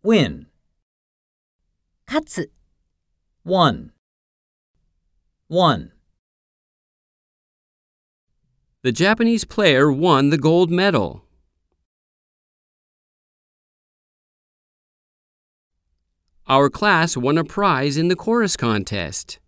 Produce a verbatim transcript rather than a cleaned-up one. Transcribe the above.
win, 勝つ、 won, won. The Japanese player won the gold medal. Our class won a prize in the chorus contest.